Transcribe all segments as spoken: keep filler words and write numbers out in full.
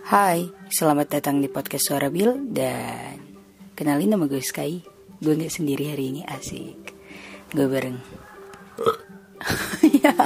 Hai, selamat datang di podcast Suara Bil. Dan kenalin nama gue Sky. Gue gak sendiri hari ini, asik. Gue bareng ya.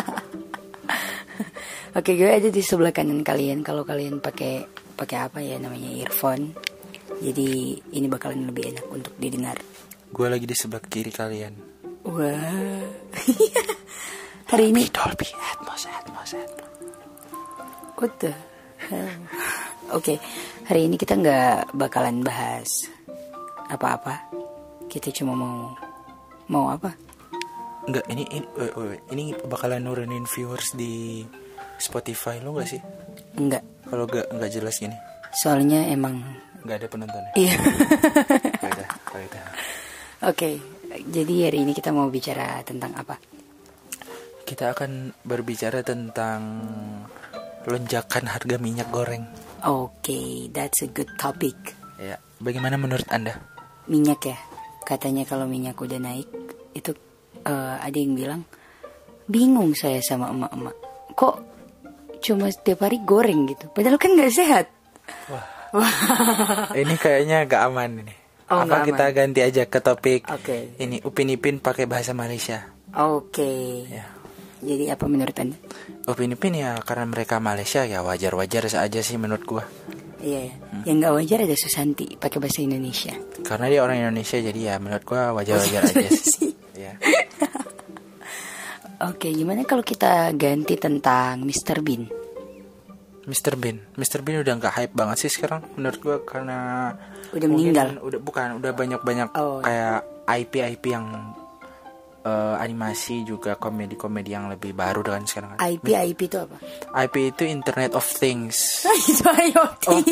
Oke, gue ada di sebelah kanan kalian. Kalau kalian pakai pakai apa ya namanya, earphone. Jadi ini bakalan lebih enak untuk didengar. Gue lagi di sebelah kiri kalian. Wah. Hari ini Dolby Atmos, Atmos, Atmos. What the hell? Oke, okay, hari ini kita nggak bakalan bahas apa-apa. Kita cuma mau mau apa? Enggak, ini ini wait, wait, ini bakalan nurunin viewers di Spotify lo nggak sih? Enggak. Kalau nggak nggak jelas gini. Soalnya emang nggak ada penontonnya. Iya. Beda, beda. Oke, jadi hari ini kita mau bicara tentang apa? Kita akan berbicara tentang lonjakan harga minyak goreng. Oke, okay, that's a good topic. Ya, bagaimana menurut Anda? Minyak ya, katanya kalau minyak udah naik, itu uh, ada yang bilang, bingung saya sama emak-emak, kok cuma setiap hari goreng gitu, padahal kan nggak sehat. Wah, ini kayaknya agak aman ini. Oh, apa kita aman. Ganti aja ke topik okay. Ini Upin Ipin pakai bahasa Malaysia. Oke. Okay. Ya. Jadi apa menurut Anda? Upin Ipin ya karena mereka Malaysia ya wajar-wajar saja sih menurut gua. Iya, hmm. Yang nggak wajar ada Susanti pakai bahasa Indonesia. Karena dia orang Indonesia jadi ya menurut gua wajar-wajar aja sih. Ya. Oke, gimana kalau kita ganti tentang mister Bean? mister Bean, mister Bean udah nggak hype banget sih sekarang menurut gua karena udah meninggal. Udah bukan, udah banyak-banyak oh, kayak I P I P yang Uh, animasi juga komedi-komedi yang lebih baru dengan sekarang. I P I P itu apa? I P itu Internet of Things. Itu IoT. Oh.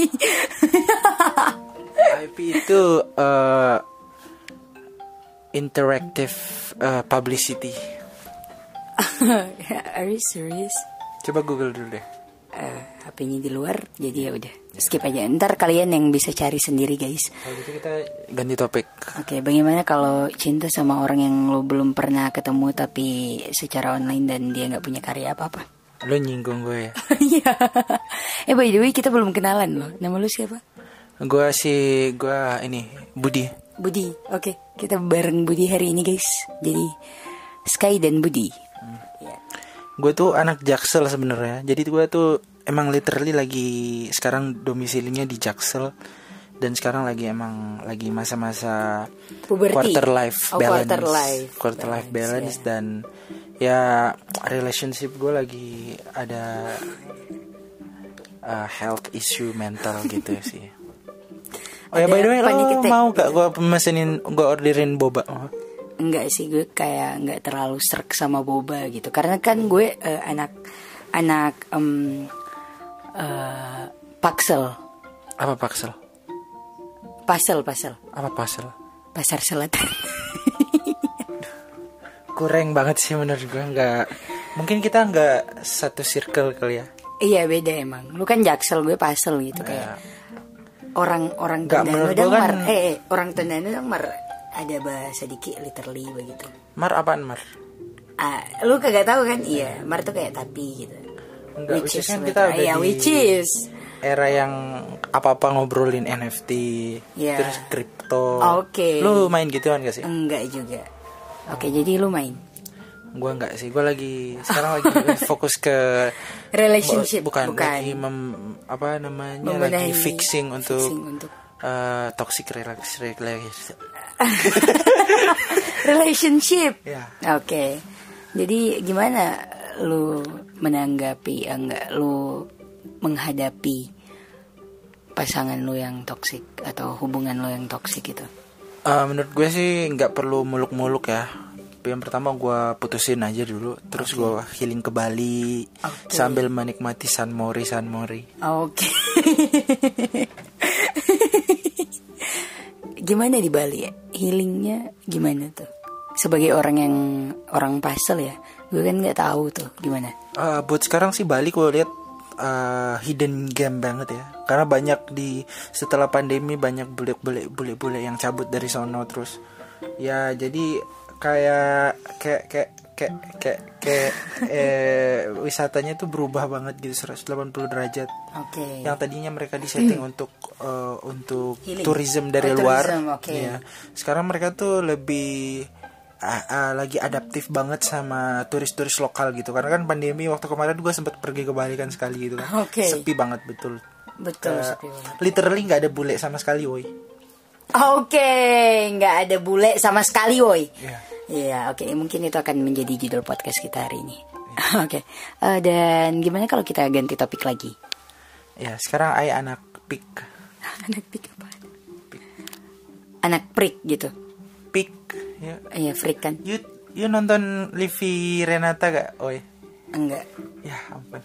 I P itu uh, Interactive uh, Publicity. Are you serious? Coba Google dulu deh. Uh, H P-nya di luar, jadi ya udah skip aja. Ntar kalian yang bisa cari sendiri guys. Kalau gitu kita ganti topik. Oke, okay, bagaimana kalau cinta sama orang yang lo belum pernah ketemu tapi secara online dan dia nggak punya karya apa-apa? Lo nyinggung gue ya? Iya. eh by the way kita belum kenalan lo. Nama lo siapa? Gue si gue ini Budi. Budi. Oke, okay, kita bareng Budi hari ini guys. Jadi Sky dan Budi. Hmm. Yeah. Gue tuh anak Jaksel sebenarnya. Jadi gue tuh emang literally lagi sekarang domisilinya di Jaksel dan sekarang lagi emang lagi masa-masa puberty. quarter life oh, balance, quarter life quarter life balance yeah. Dan ya relationship gue lagi ada uh, health issue mental gitu sih. Oh ya by the way lo mau gak gue pesenin gue orderin boba? Oh. Enggak sih, gue kayak enggak terlalu serk sama boba gitu. Karena kan gue uh, anak anak um, uh, paksel. Apa paksel? Pasel, pasel. Apa pasel? Pasar Selatan. Kurang banget sih menurut gue. Enggak. Mungkin kita enggak satu circle kali ya. Iya beda emang. Lu kan Jaksel, gue pasel gitu. Kayak orang-orang Tondano dan kan... mar. Eh, eh orang Tondano dan mar. Ada bahasa dikit literally begitu. Mar apaan mar? Ah, lu kagak tahu kan? Iya, mar tuh kayak tapi gitu. Enggak, which is kan kita udah ya, di which is era yang apa-apa ngobrolin N F T, yeah. Terus kripto. Oke. Okay. Lu main gituan gak sih? Enggak juga. Oke, okay, jadi lu main? Gua enggak sih, gua lagi sekarang lagi fokus ke relationship. Bukan, bukan. lagi mem, apa namanya Membenahi, lagi fixing untuk, fixing untuk... Uh, toxic relationship. Relationship. Ya. Oke. Okay. Jadi gimana lu menanggapi enggak lu menghadapi pasangan lu yang toksik atau hubungan lu yang toksik itu? Uh, menurut gue sih nggak perlu muluk-muluk ya. Yang pertama gue putusin aja dulu, terus okay. gue healing ke Bali okay. sambil menikmati San Mori San Mori. Oke. Okay. Gimana di Bali ya? Healingnya gimana tuh? Sebagai orang yang orang pasel ya, gue kan nggak tahu tuh gimana. Uh, buat sekarang sih Bali gue lihat uh, hidden gem banget ya, karena banyak di setelah pandemi banyak bule-bule bule-bule yang cabut dari sono terus. Ya jadi kayak kayak kayak kayak kayak kayak eh, wisatanya tuh berubah banget gitu seratus delapan puluh derajat. Oke. Okay. Yang tadinya mereka disetting untuk uh, untuk Healing. tourism dari oh, luar. Tourism, okay. Ya. Sekarang mereka tuh lebih uh, uh, lagi adaptif banget sama turis-turis lokal gitu. Karena kan pandemi waktu kemarin gue sempat pergi ke Bali kan sekali gitu kan. Okay. Sepi banget betul. Betul, uh, sepi banget. Literally nggak ada bule sama sekali, woi. Oke, okay. nggak ada bule sama sekali, woi. Iya, yeah. yeah, oke. Okay. Mungkin itu akan menjadi judul podcast kita hari ini. Yeah. Oke. Okay. Uh, dan gimana kalau kita ganti topik lagi? Ya, yeah, sekarang ay anak pik. Anak pik apa? Pik. Anak prik gitu. Pik. Ya. Iya, freak kan. You, you nonton Livi Renata gak, oi? Enggak. Ya, ampun.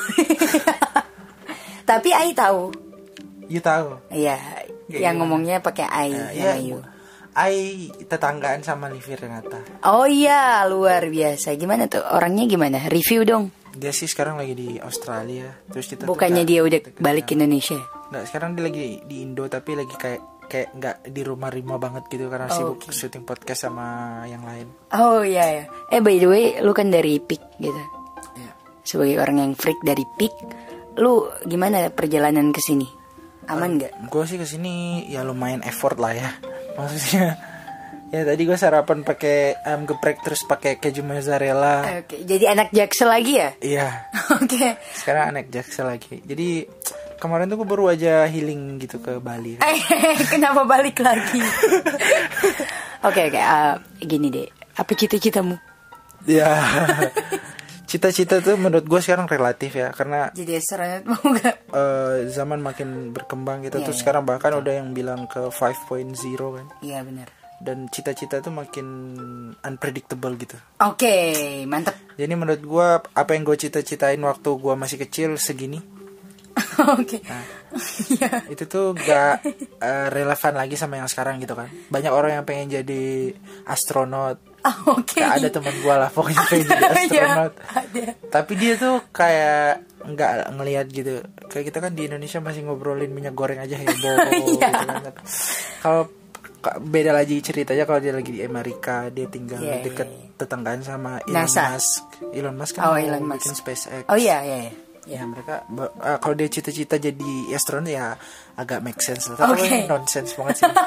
Tapi ay tahu. You tahu? Iya. Yang ngomongnya pakai I uh, ya, you. I tetanggaan sama Livi Renata. Oh iya, luar biasa. Gimana tuh? Orangnya gimana? Review dong. Dia sih sekarang lagi di Australia. Terus kita bukannya dia udah balik ke Indonesia? Nggak, sekarang dia lagi di Indo tapi lagi kayak kayak nggak di rumah-rumah banget gitu karena oh, sibuk okay. syuting podcast sama yang lain. Oh iya ya. Eh by the way, lu kan dari P I K gitu. Yeah. Sebagai orang yang freak dari P I K, lu gimana perjalanan ke sini? Aman nggak? Uh, gue sih kesini ya lumayan effort lah ya. Maksudnya ya tadi gue sarapan pakai ayam geprek terus pakai keju mozzarella. Oke, okay. Jadi anak Jaksel lagi ya? Iya. Oke. Okay. Sekarang anak Jaksel lagi. Jadi kemarin tuh gue baru aja healing gitu ke Bali. Kenapa balik lagi? Oke oke. Gini deh. Apa cita-citamu? Ya. Cita-cita tuh menurut gue sekarang relatif ya karena jadi astronot mau gak? Uh, zaman makin berkembang gitu yeah, tuh yeah. Sekarang bahkan udah yang bilang ke lima titik nol kan. Iya yeah, benar. Dan cita-cita tuh makin unpredictable gitu. Oke, okay, mantep. Jadi menurut gue apa yang gue cita-citain waktu gue masih kecil segini. Oke. Okay. Nah, yeah. Itu tuh gak uh, relevan lagi sama yang sekarang gitu kan. Banyak orang yang pengen jadi astronot. Oh, oke. Okay. Ada teman gue lah pokoknya pengen jadi astronot. Ada. Tapi dia tuh kayak nggak ngelihat gitu. Kayak kita kan di Indonesia masih ngobrolin minyak goreng aja heboh gitu kan. Kalau beda lagi ceritanya kalau dia lagi di Amerika, dia tinggal yeah, deket yeah, yeah. tetanggaan sama Elon NASA. Musk. Elon Musk kan oh, mau Elon bikin Musk. SpaceX. Oh iya iya iya. Ya mereka uh, kalau dia cita-cita jadi astronot ya agak make sense lah. Tapi okay. nonsense banget sih.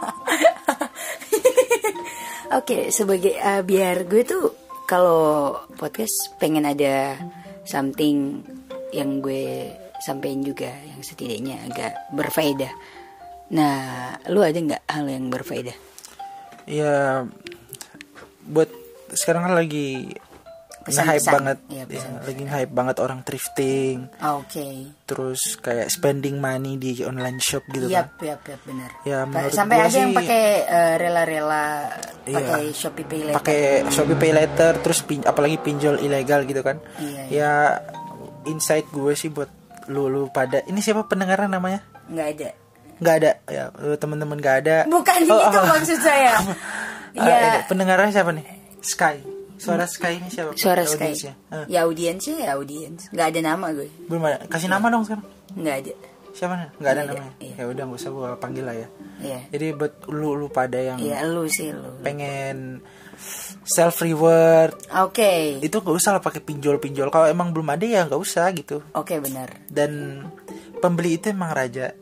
Oke, okay, sebagai uh, biar gue tuh kalau podcast pengen ada something yang gue sampein juga yang setidaknya agak berfaedah. Nah, lu ada nggak hal yang berfaedah? Ya, buat sekarang kan lagi nge-hype banget, ya, ya, lagi nge-hype banget orang thrifting. Oh, oke. Okay. Terus kayak spending money di online shop gitu yep, kan. Iya, iya, benar. Ya, sampai ada sih, yang pakai uh, rela-rela pakai iya, Shopee Pay Later. Pakai Shopee Pay Later terus pin, apalagi pinjol ilegal gitu kan. Iya, iya. Ya, insight gue sih buat lu lu pada ini siapa pendengaran namanya? Nggak ada. Nggak ada. Ya, teman-teman nggak ada. Bukan oh, itu oh, maksud saya. uh, ya. Pendengarannya siapa nih? Sky. Suara Sky ini siapa? Suara Sky. Uh. Ya audiensnya ya audiens. Gak ada nama gue. Belum ada. Kasih nama dong sekarang. Nggak ada. Siapa nih? Nggak ada Nggak namanya. Iya. Ya udah nggak usah gue panggil lah ya. Iya. Jadi buat lu lu pada yang. Iya lu sih lu. Pengen self reward. Oke. Okay. Itu nggak usah lah pakai pinjol-pinjol. Kalau emang belum ada ya nggak usah gitu. Oke okay, benar. Dan pembeli itu emang raja.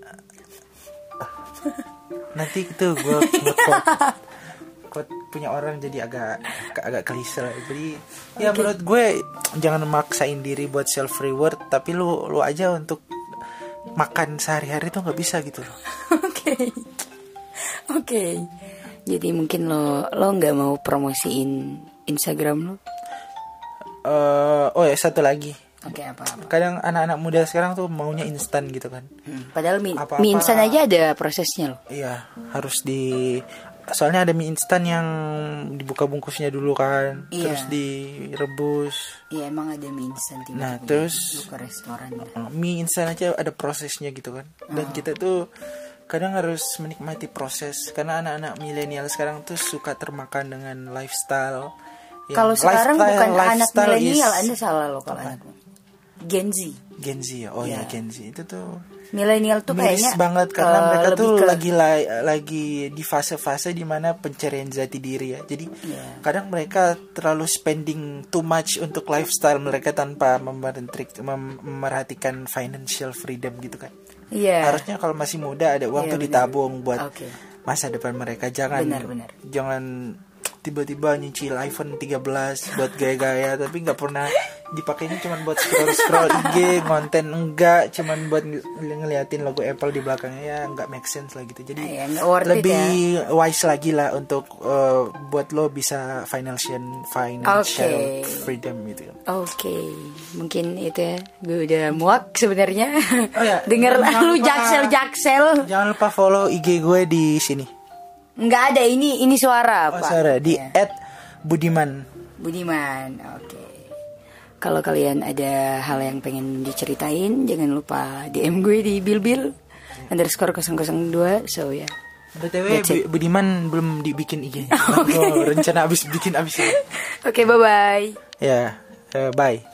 Nanti itu gue nge-quote quote punya orang jadi agak agak klise. Jadi okay. ya menurut gue jangan maksain diri buat self reward, tapi lu lu aja untuk makan sehari-hari tuh nggak bisa gitu loh. Oke. Oke. Jadi mungkin lo lo nggak mau promosiin Instagram lo? Uh, oh ya satu lagi. Oke okay, apa-apa. Kadang anak-anak muda sekarang tuh maunya instan gitu kan. Hmm, padahal mie, apa-apa, mie instan aja ada prosesnya loh. Iya, harus di soalnya ada mie instan yang dibuka bungkusnya dulu kan, iya. Terus direbus. Iya emang ada mie instan. Nah terus buka restoran. Mie instan aja ada prosesnya gitu kan. Dan oh. kita tuh kadang harus menikmati proses karena anak-anak milenial sekarang tuh suka termakan dengan lifestyle. Kalau sekarang bukan anak milenial, Anda salah loh kalau anak. Gen Z. Gen Z ya. Oh ya, ya Gen Z itu tuh milenial tuh miris kayaknya banget karena uh, mereka tuh ke... lagi lagi di fase-fase dimana pencarian jati diri ya. Jadi yeah. kadang mereka terlalu spending too much untuk lifestyle mereka tanpa memerhatikan financial freedom gitu kan. Yeah. Harusnya kalau masih muda ada uang yeah, tuh bener. ditabung buat okay. masa depan mereka. Jangan bener, bener. jangan tiba-tiba nyicil iPhone tiga belas buat gaya-gaya tapi nggak pernah dipakainya cuma buat scroll-scroll I G konten, enggak cuman buat ng- ngeliatin logo Apple di belakangnya, ya nggak make sense lah gitu. Jadi ya, lebih ya. wise lagi lah untuk uh, buat lo bisa financial financial okay. freedom gitu. Oke, okay. Mungkin itu ya, gue udah muak sebenarnya. Oh ya, denger lu jaksel-jaksel. Jangan lupa follow I G gue di sini. Nggak ada, ini ini suara oh, Pak. Suara di ya. et budiman. Budiman, oke. Okay. Kalau kalian ada hal yang pengen diceritain, jangan lupa D M gue di bilbil underscore nol nol dua. So ya. Yeah. B T W Budiman belum dibikin I G-nya. Okay. Oh, rencana abis bikin abis ini. Oke, okay, bye bye. Ya, yeah, uh, bye.